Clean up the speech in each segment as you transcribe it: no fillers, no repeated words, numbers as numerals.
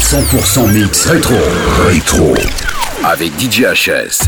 100% mix rétro. Rétro. Avec DJ HS.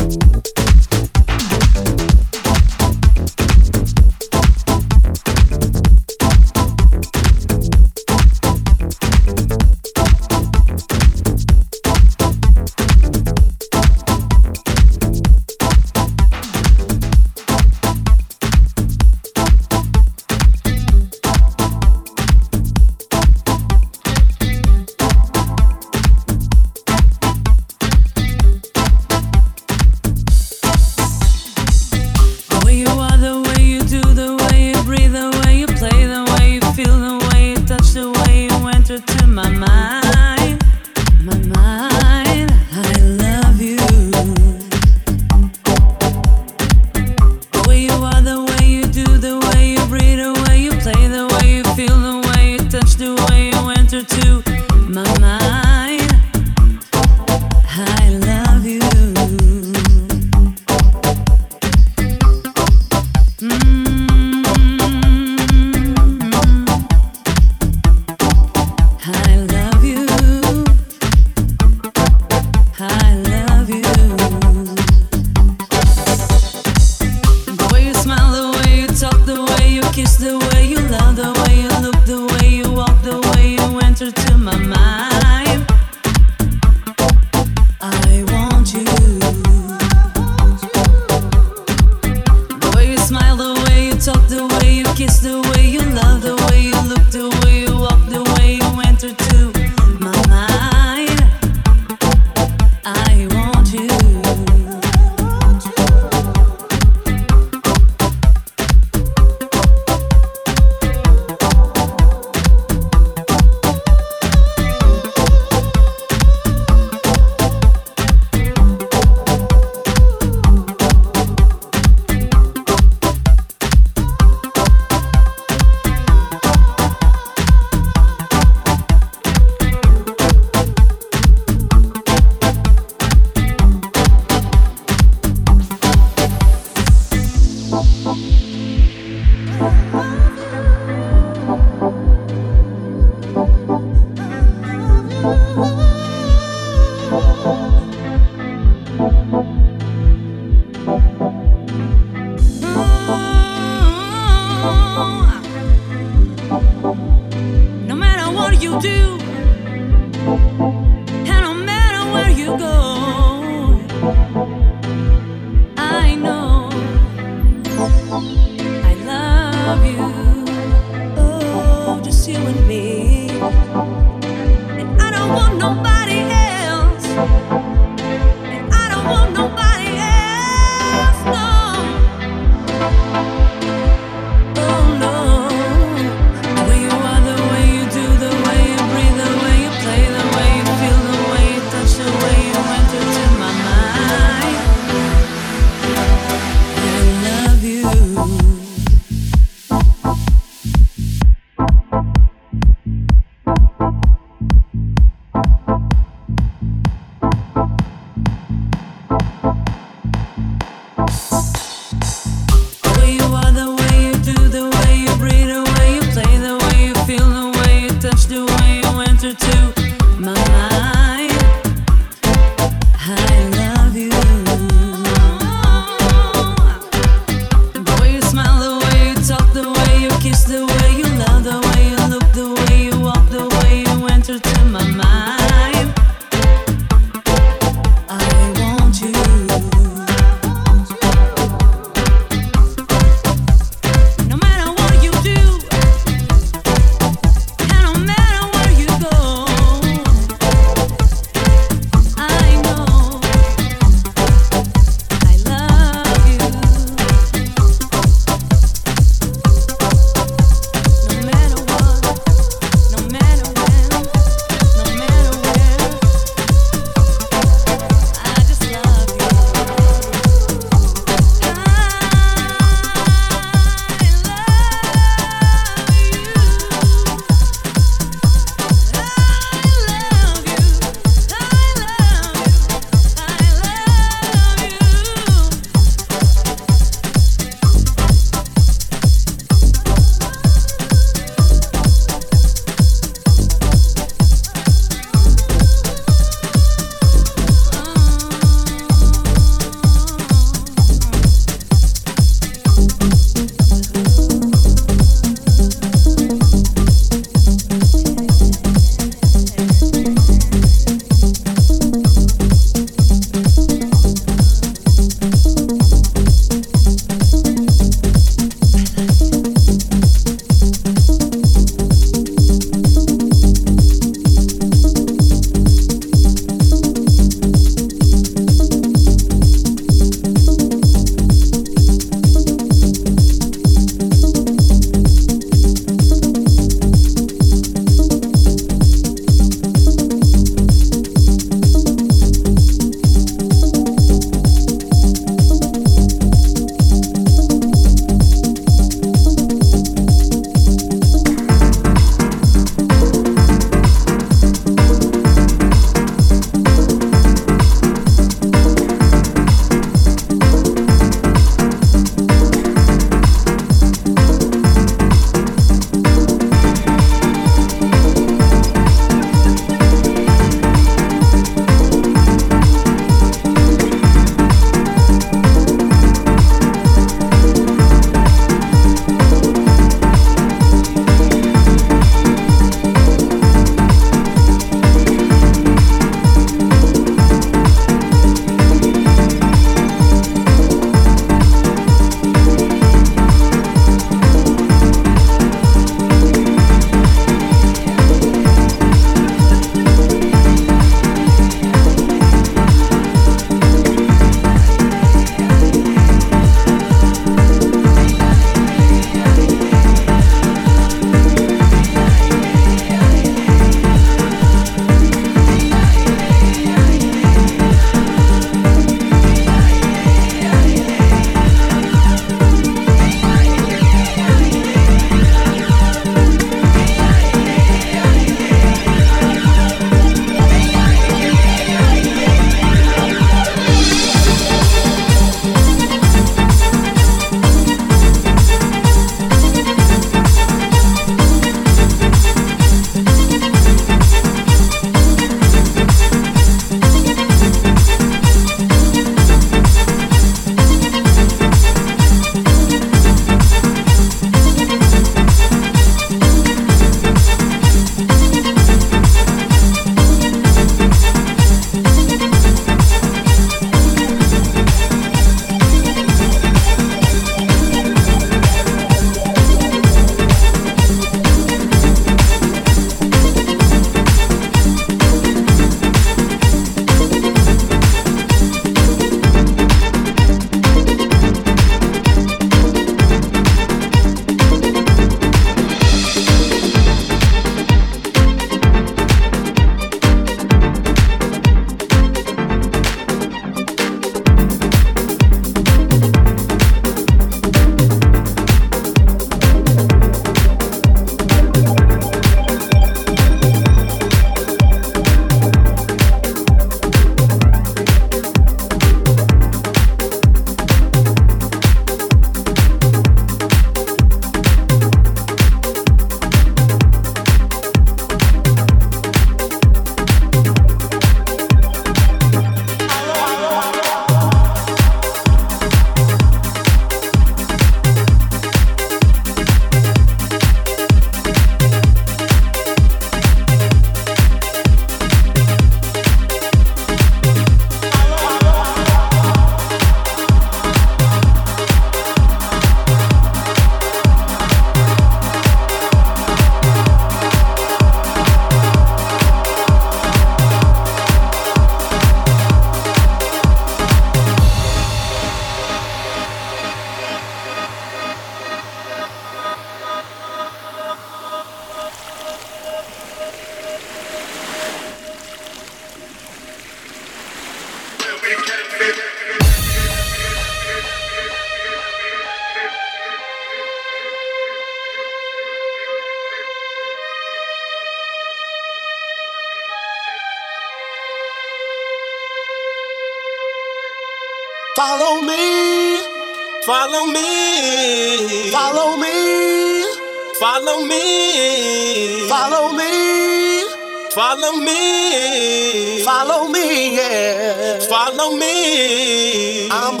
Follow me, follow me, follow me, follow me, follow me, follow me, follow me, yeah, follow me. I'm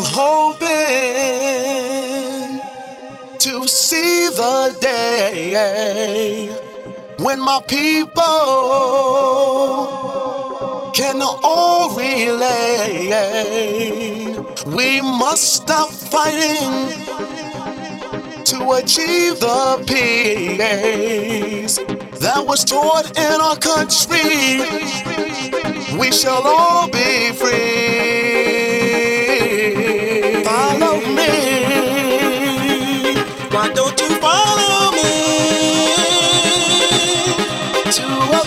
hoping to see the day when my people can all relate. We must stop fighting to achieve the peace that was taught in our country. We shall all be free. Follow me. Why don't you follow me to a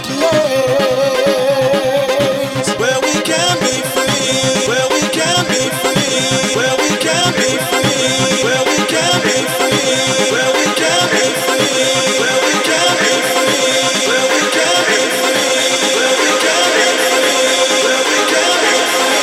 place where we can be free, where we can be free, where we can be free, where we can be free, where we can be free, where we can be free, where we can be free, where we can be free, where we can be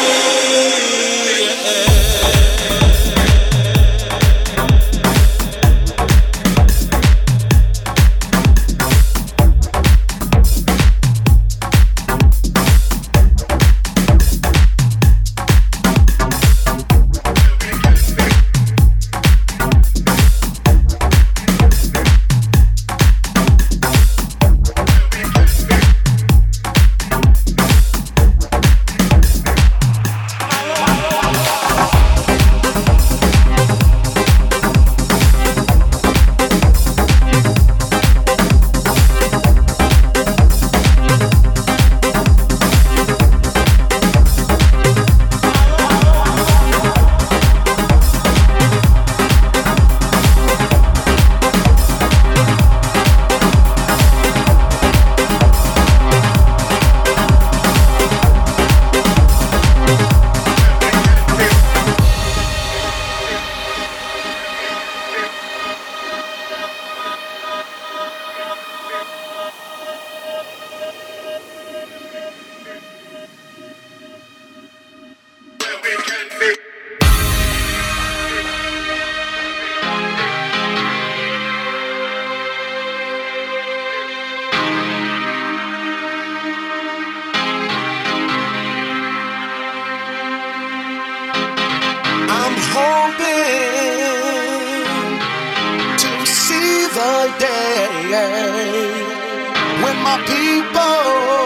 when my people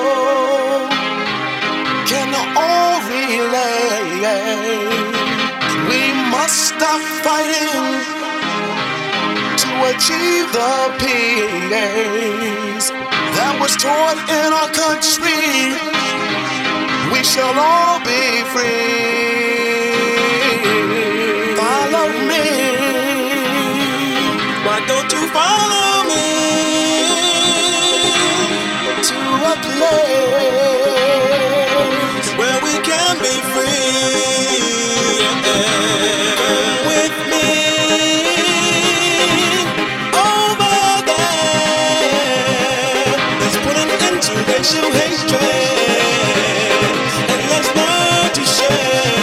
can all relate. We must stop fighting to achieve the peace that was taught in our country. We shall all be free. Follow me. Why don't you follow me to a place where we can be free? Come with me over there. Let's put an end to racial hatred and let's learn to share.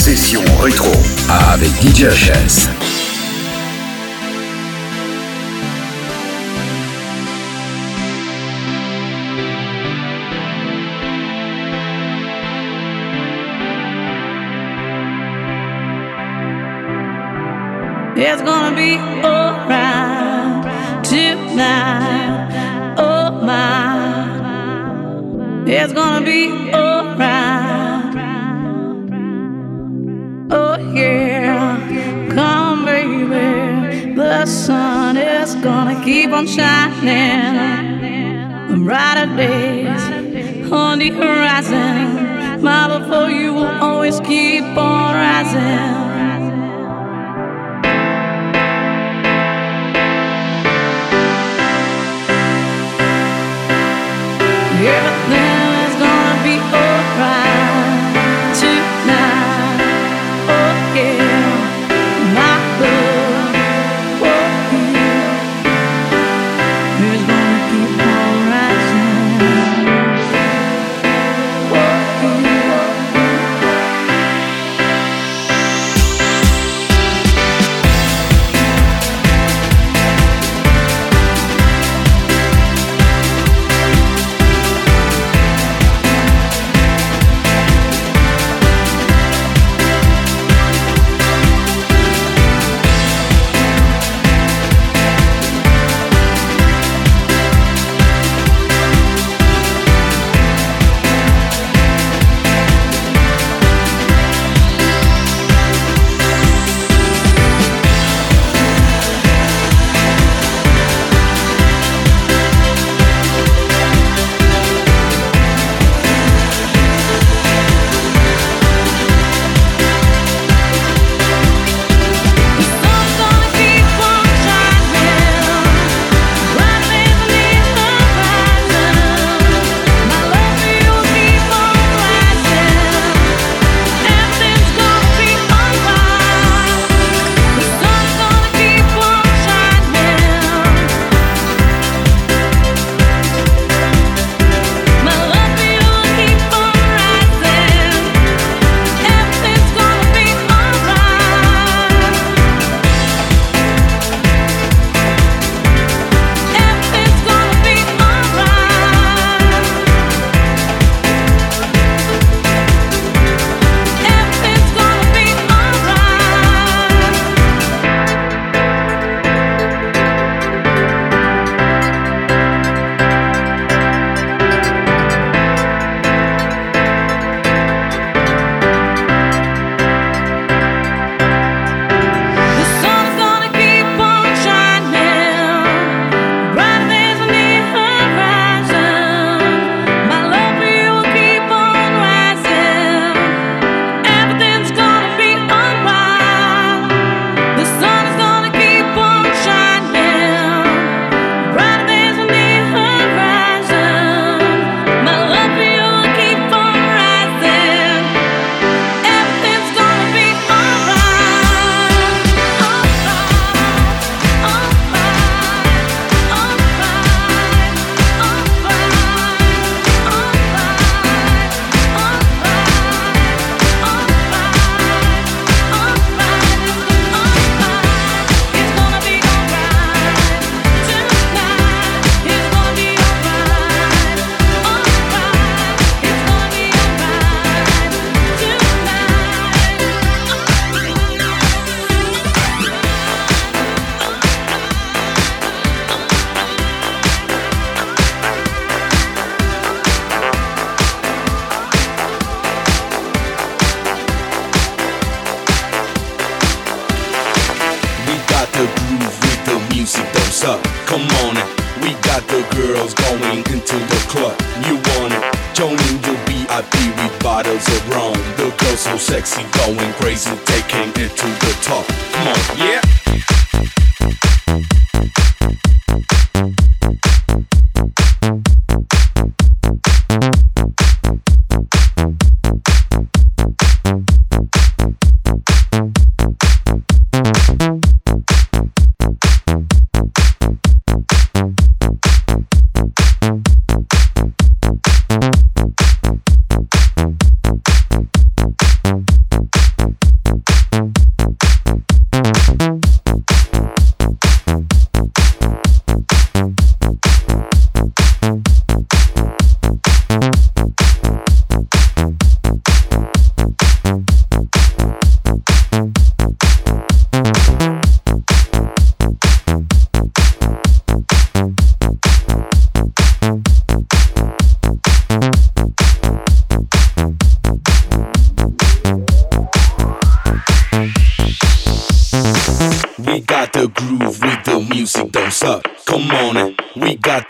Session rétro avec DJ HS. It's gonna be alright tonight, oh my. It's gonna be alright, oh yeah. Come baby, the sun is gonna keep on shining. Brighter days on the horizon. My love for you will always keep on rising. Everything is gonna be alright tonight, oh yeah. My love for you is gonna keep on rising, oh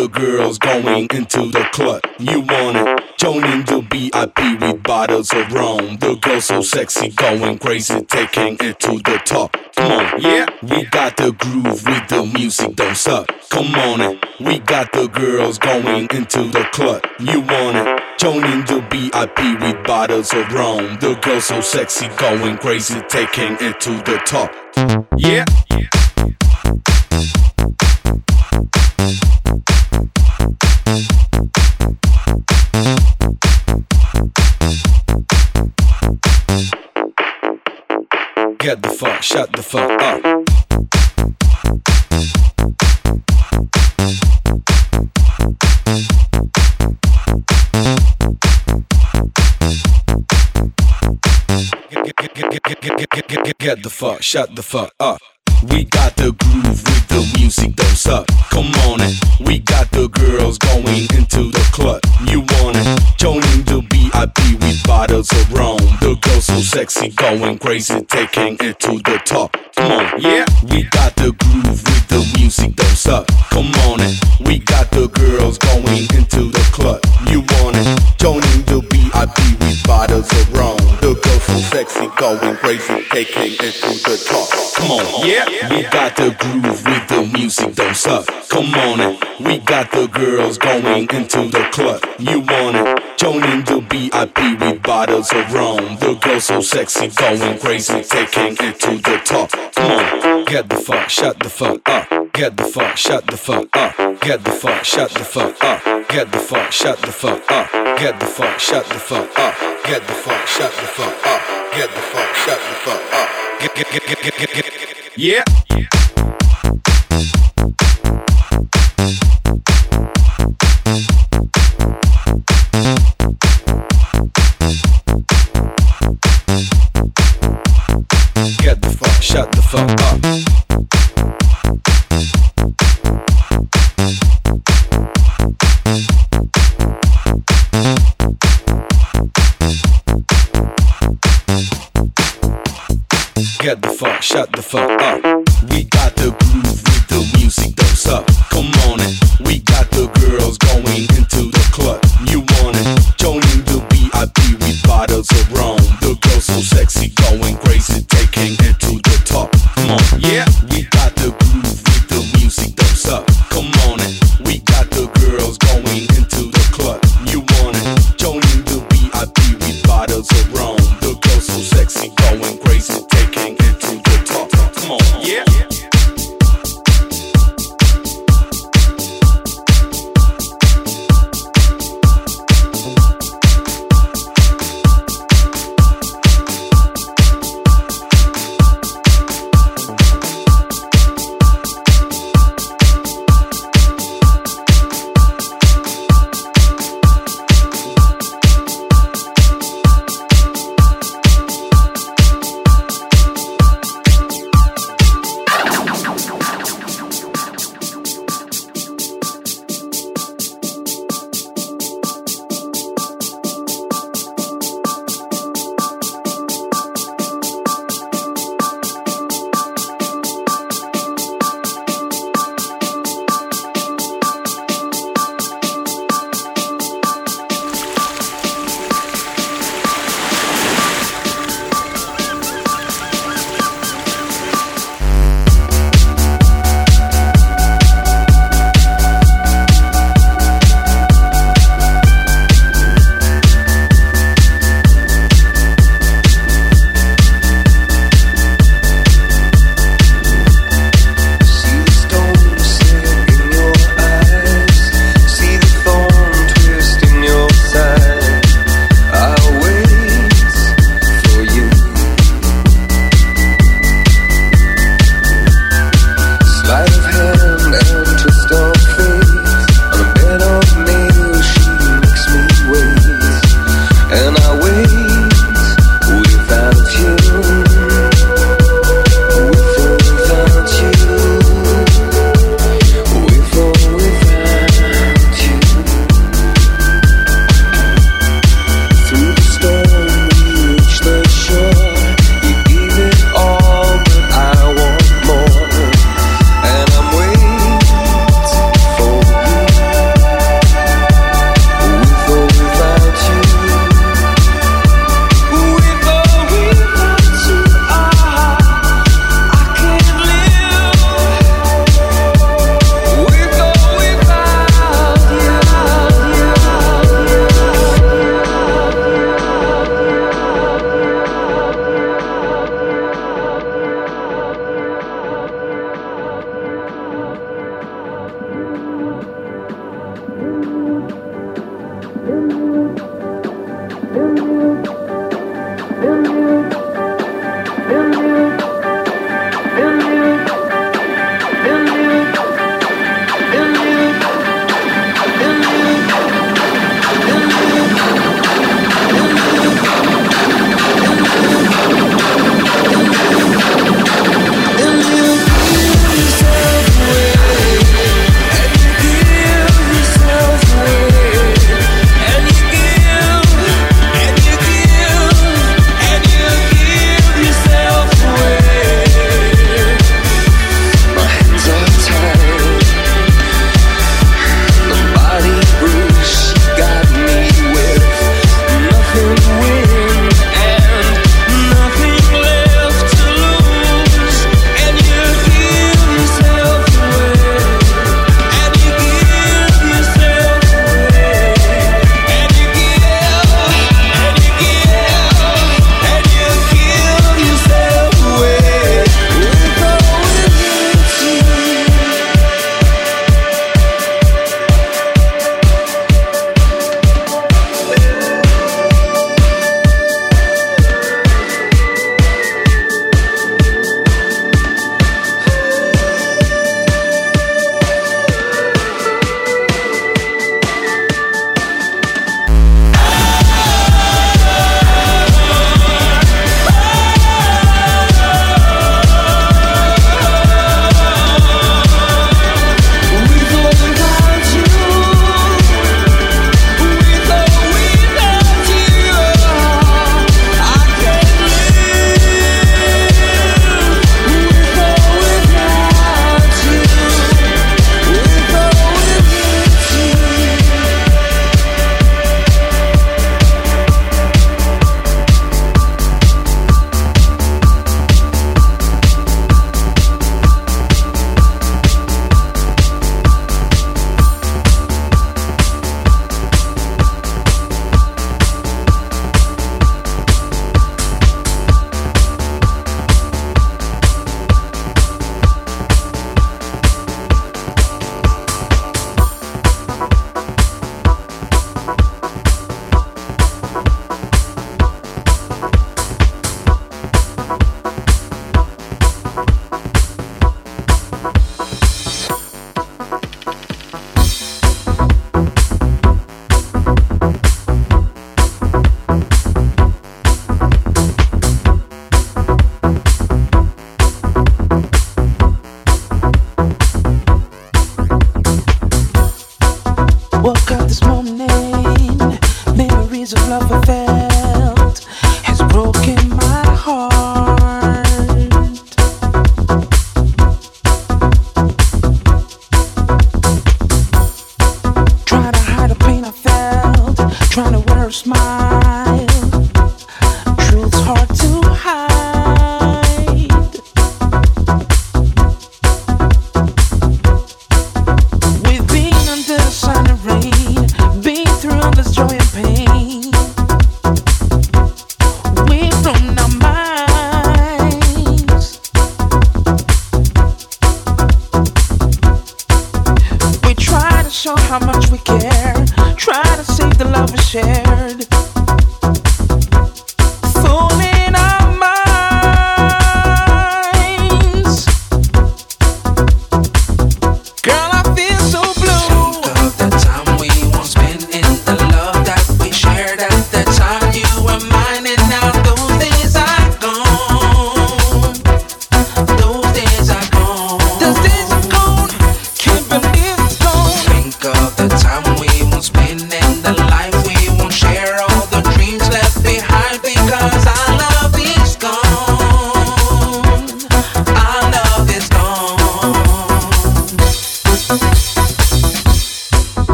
the girls going into the club. You want it? Joining the VIP with bottles of rum. The girls so sexy, going crazy, taking it to the top. Come on, yeah. We got the groove with the music, don't suck. Come on it. We got the girls going into the club. You want it? Joining the VIP with bottles of rum. The girls so sexy, going crazy, taking it to the top. Yeah. Get the fuck, shut the fuck up. Get the fuck, shut the fuck up. We got the groove with the music, don't suck. Come on it. We got the girls going into the club. You want it? Joining the VIP with bottles of rum. The girls so sexy, going crazy, taking it to the top. Come on, yeah. We got the groove with the music, don't suck. Come on it. We got the girls going into the club. You want it? Joining the VIP with bottles of rum. The girls so sexy, going crazy, taking it to the top. Come on, yeah. We got the groove with the music, don't suck. Come on it. We got the girls going into the club. You want it? Joining the VIP with bottles of rum. The girls so sexy, going crazy, taking it to the top. Come on, get the fuck, shut the fuck up. Get the fuck, shut the fuck up. Get the fuck, shut the fuck up. Get the fuck, shut the fuck up. Get the fuck, shut the fuck up. Get the fuck, shut the fuck up. Get the fuck, shut the fuck up. Get. Yeah. Get the fuck, shut the fuck up. Get the fuck, shut the fuck up. We got the groove with the music, don't suck. Come on it. We got the girls going into the club. You want it? Joining the VIP with bottles of rum. The girls so sexy, going crazy, taking it to the top. Come on, yeah. We got the groove with the music, don't suck. Come on it. We got the girls going into the club. You want it? Joining the VIP with bottles of rum. The girls so sexy, going crazy, taking it to the top. Come on, yeah.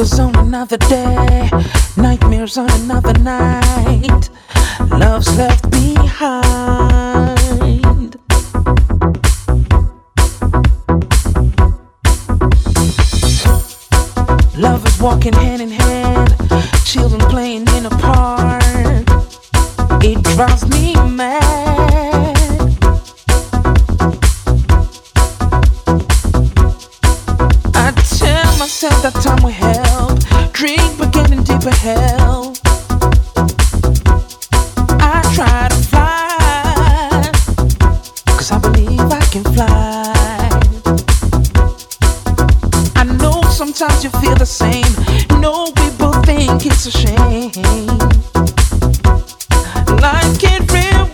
Focus on another day, nightmares on another night. Love's left behind. Lovers walking hand in hand, children playing in a park. It drives me mad. I tell myself that time will help, drink but getting deeper help. I try to fly, 'cause I believe I can fly. I know sometimes you feel the same. No, we both think it's a shame. Life can't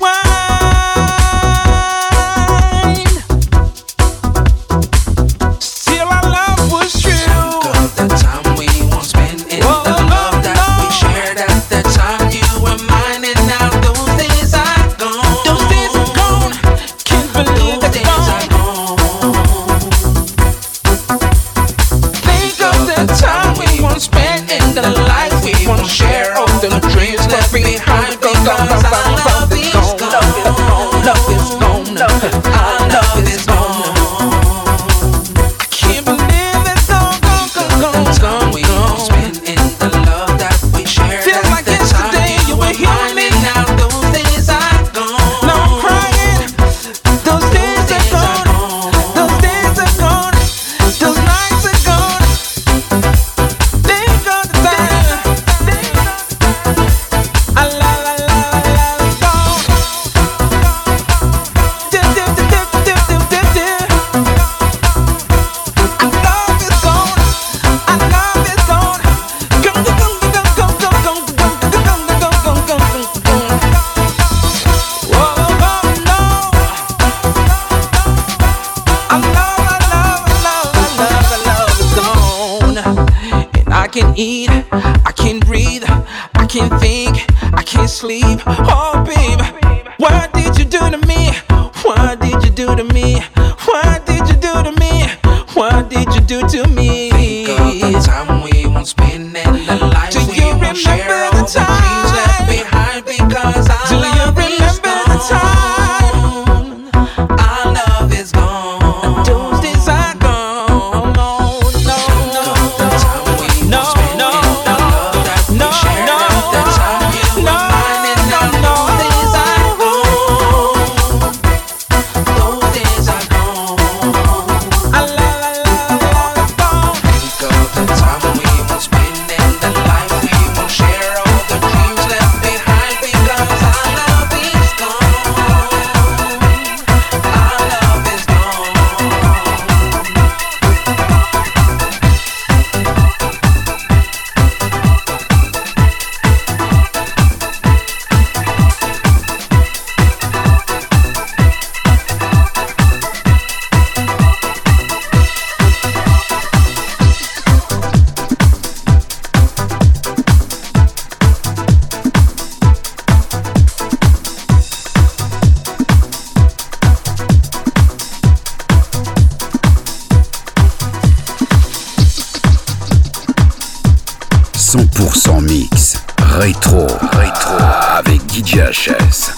rewind. Still our love was true. Think of the time we won't spend in the love that we shared at the time you were mine, and now those days are gone. Those days are gone. Can't believe Those it's days gone. are gone. Think of the time we won't spend in the life we won't share. All the dreams left behind because our love is gone. Love is gone. Our love is gone. I can't believe it's gone, gone, gone, gone, The time we won't spend in the love that we shared Feels at like the yesterday time you were here with mine, me. and now those days are gone. Now I'm crying. Those days are gone. Those days are gone. Those nights are gone. They gone the time. I love is gone. Do, do, do, do, do, do, do, do. Our love is gone. Our love is gone. Gone, gone, gone, gone, gone, gone, gone, gone, gone, gone, gone, gone, gone. Whoa, oh no. Our love is gone. And I can't eat, I can't breathe, I can't think, I can't sleep. Oh, babe, what did you do to me? What did you do to me? What did you do to me? What did you do to me? Think of the time we won't spend in the life Do we you won't share. remember All the the dreams left time? behind because our Do you love is remember the gone. time? Our love is gone. Those days are gone. No, no, no, The time we no, won't spend no, in the love that we no, shared no, at the time you no, were mine, and now no, those days are gone. Those days are gone. I love is gone. Think of the time we won't spend in the life we won't share. All the dreams left behind because our love is gone. Our love is gone. Mix rétro avec DJ HS.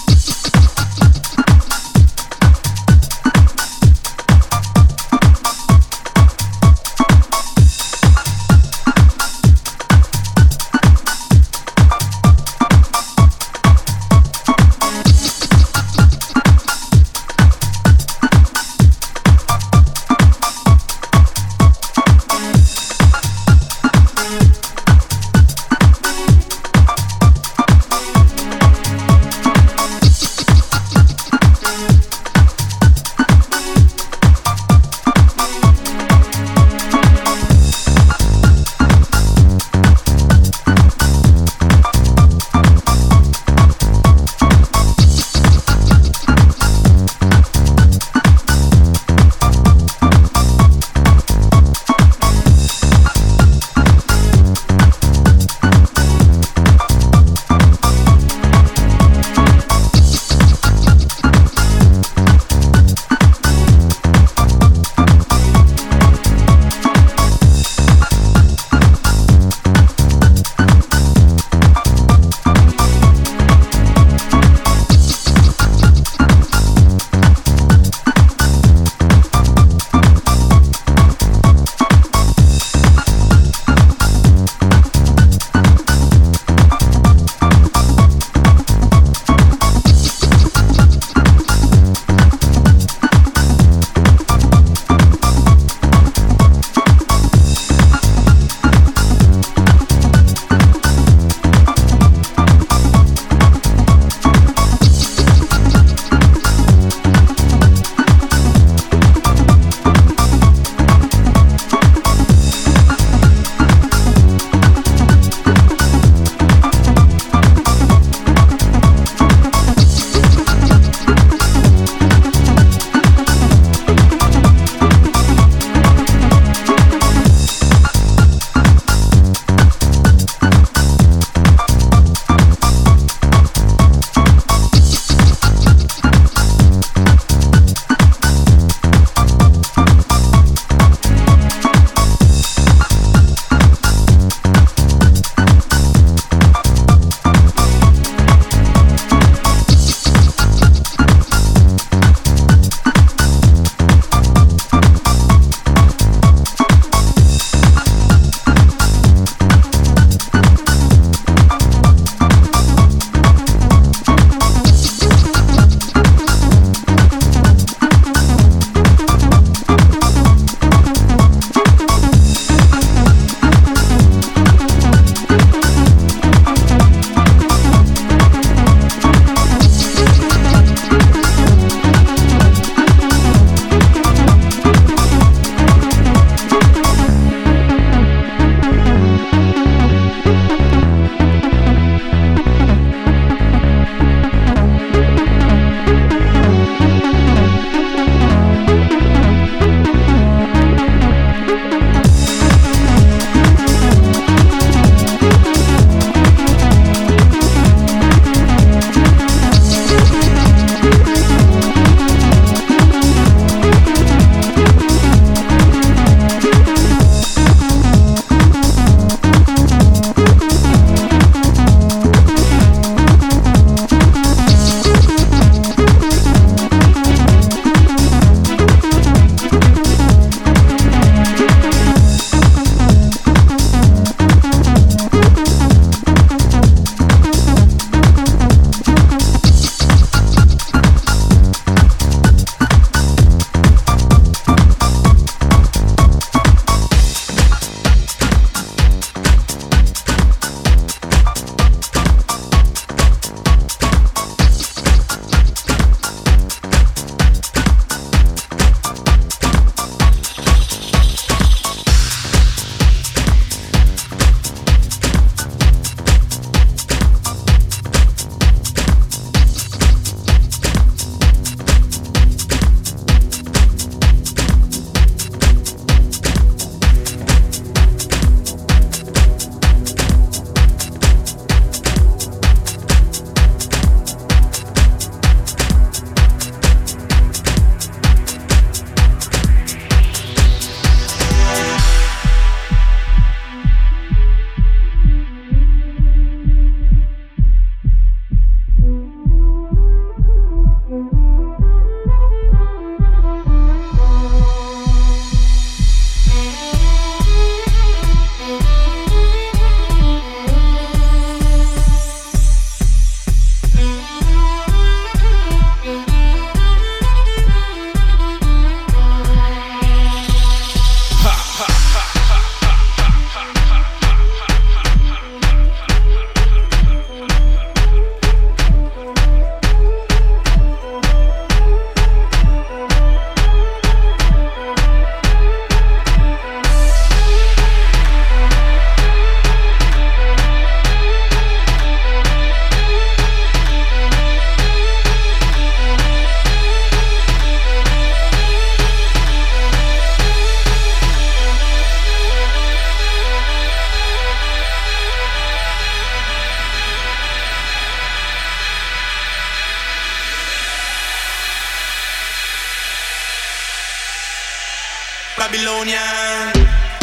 Babylonian.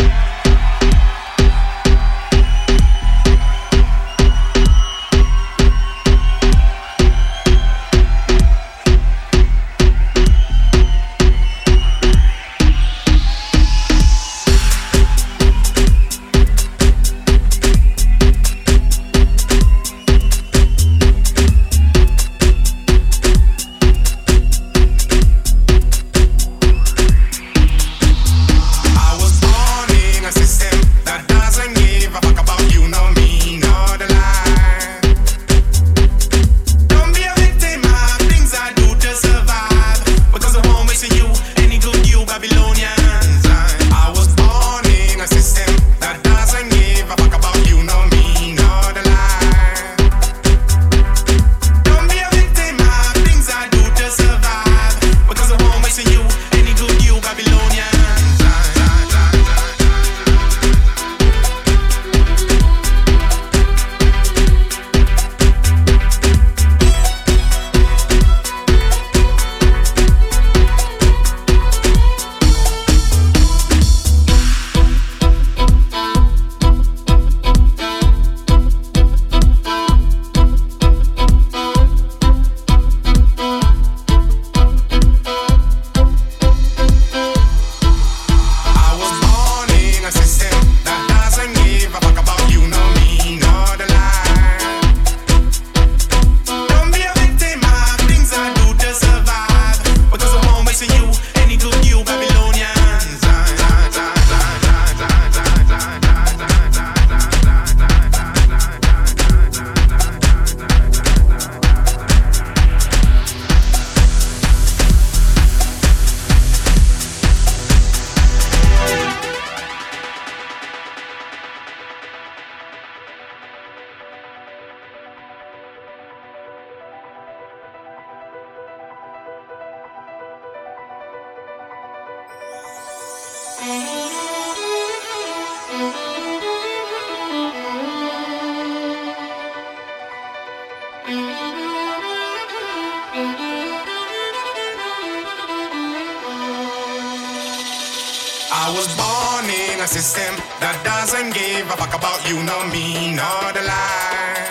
I was born in a system that doesn't give a fuck about you, nor me, nor the lie.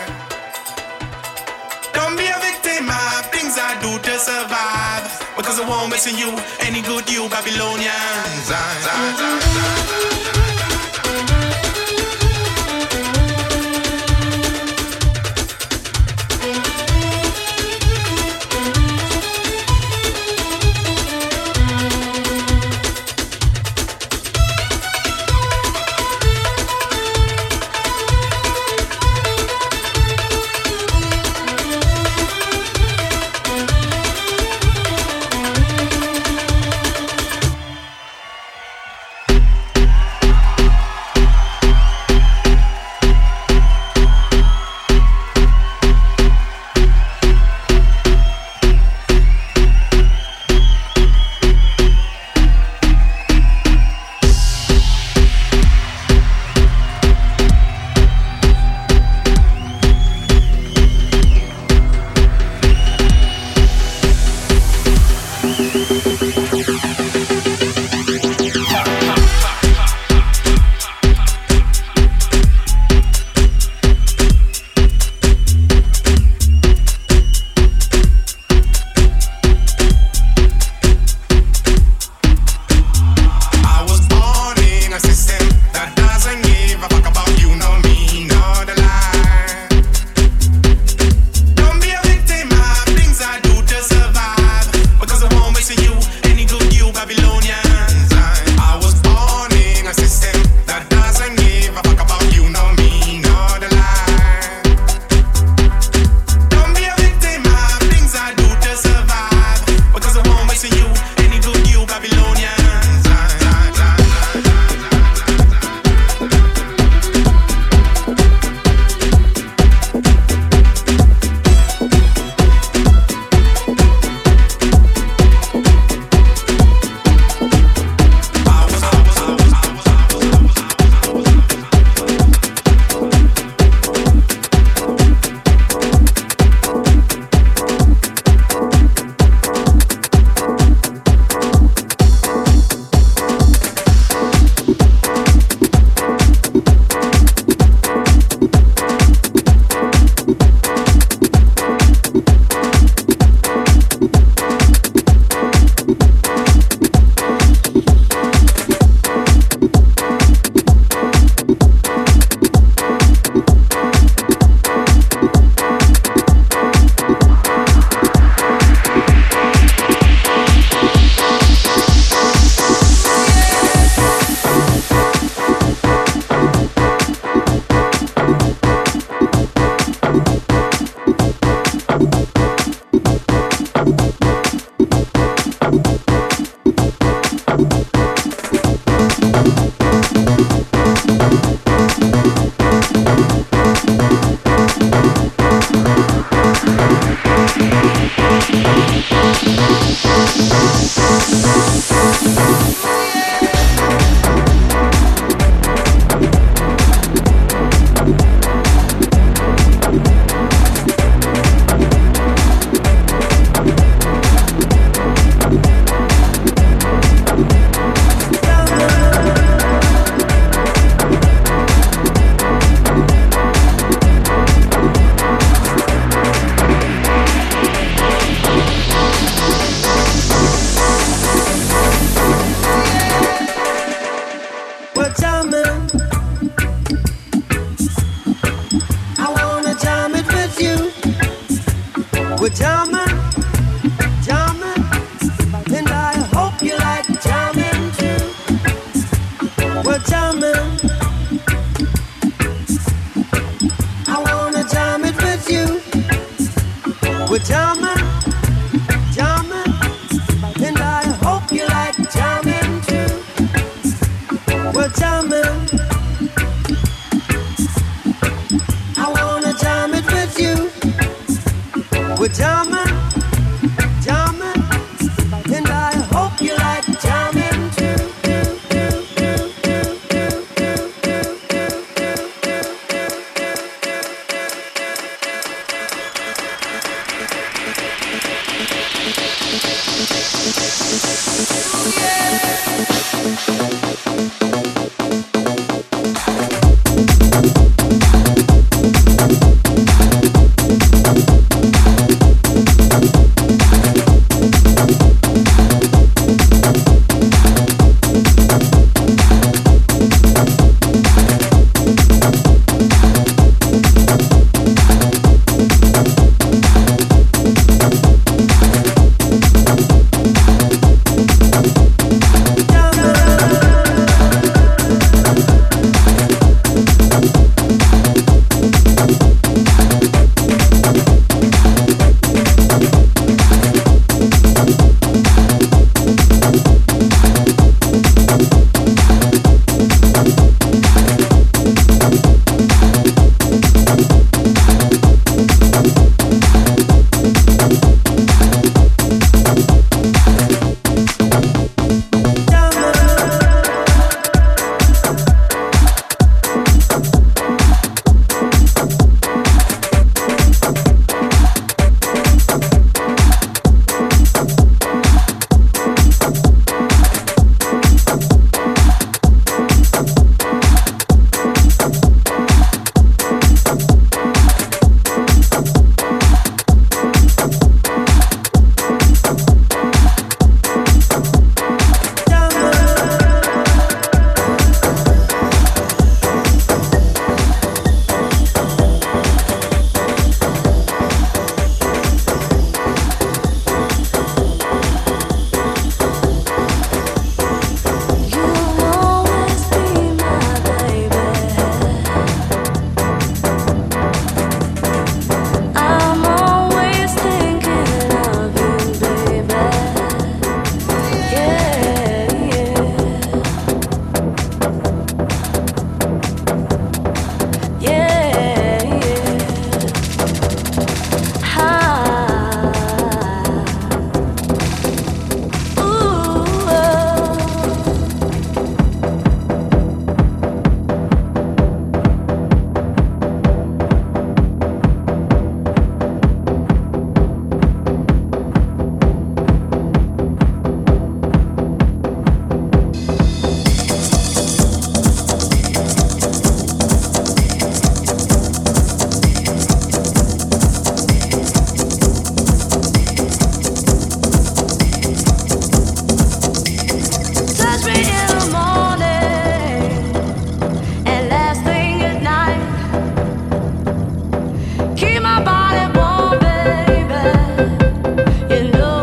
Don't be a victim of things I do to survive, because I won't miss you, any good you Babylonians.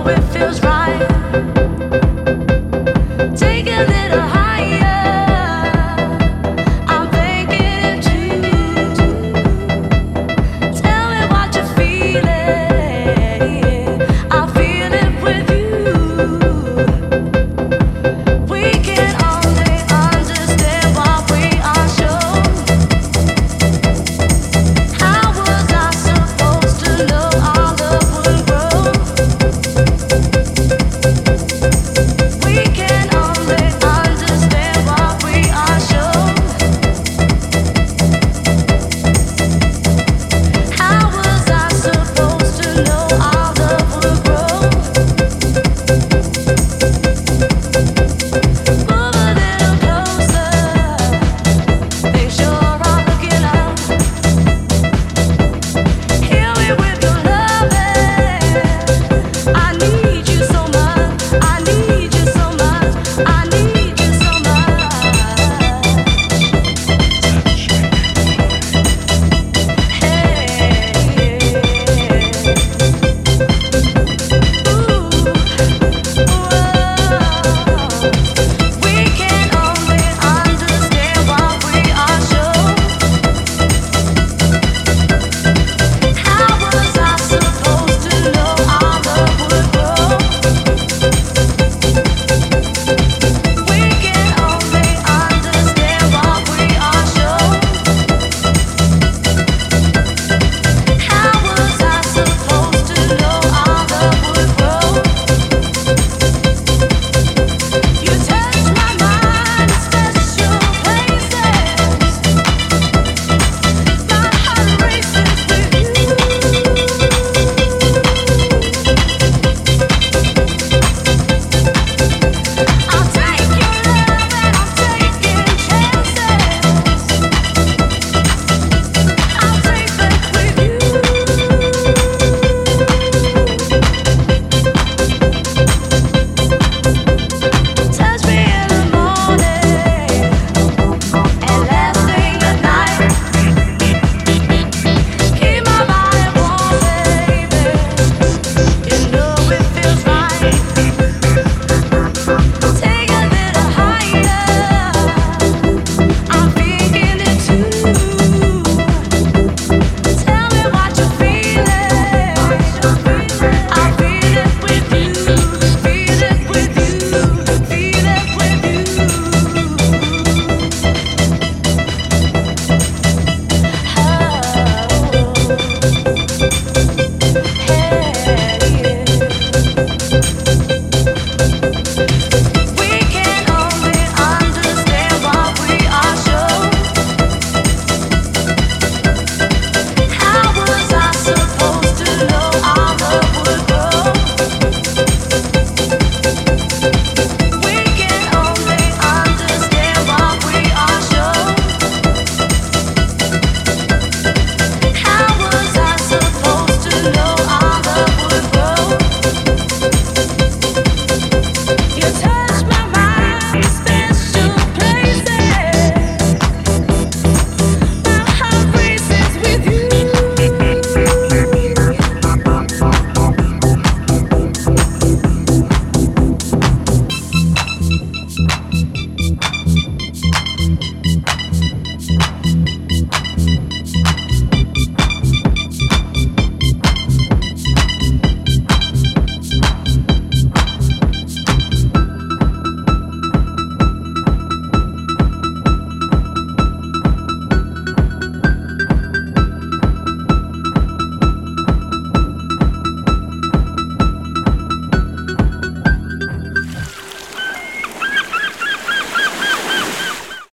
know it feels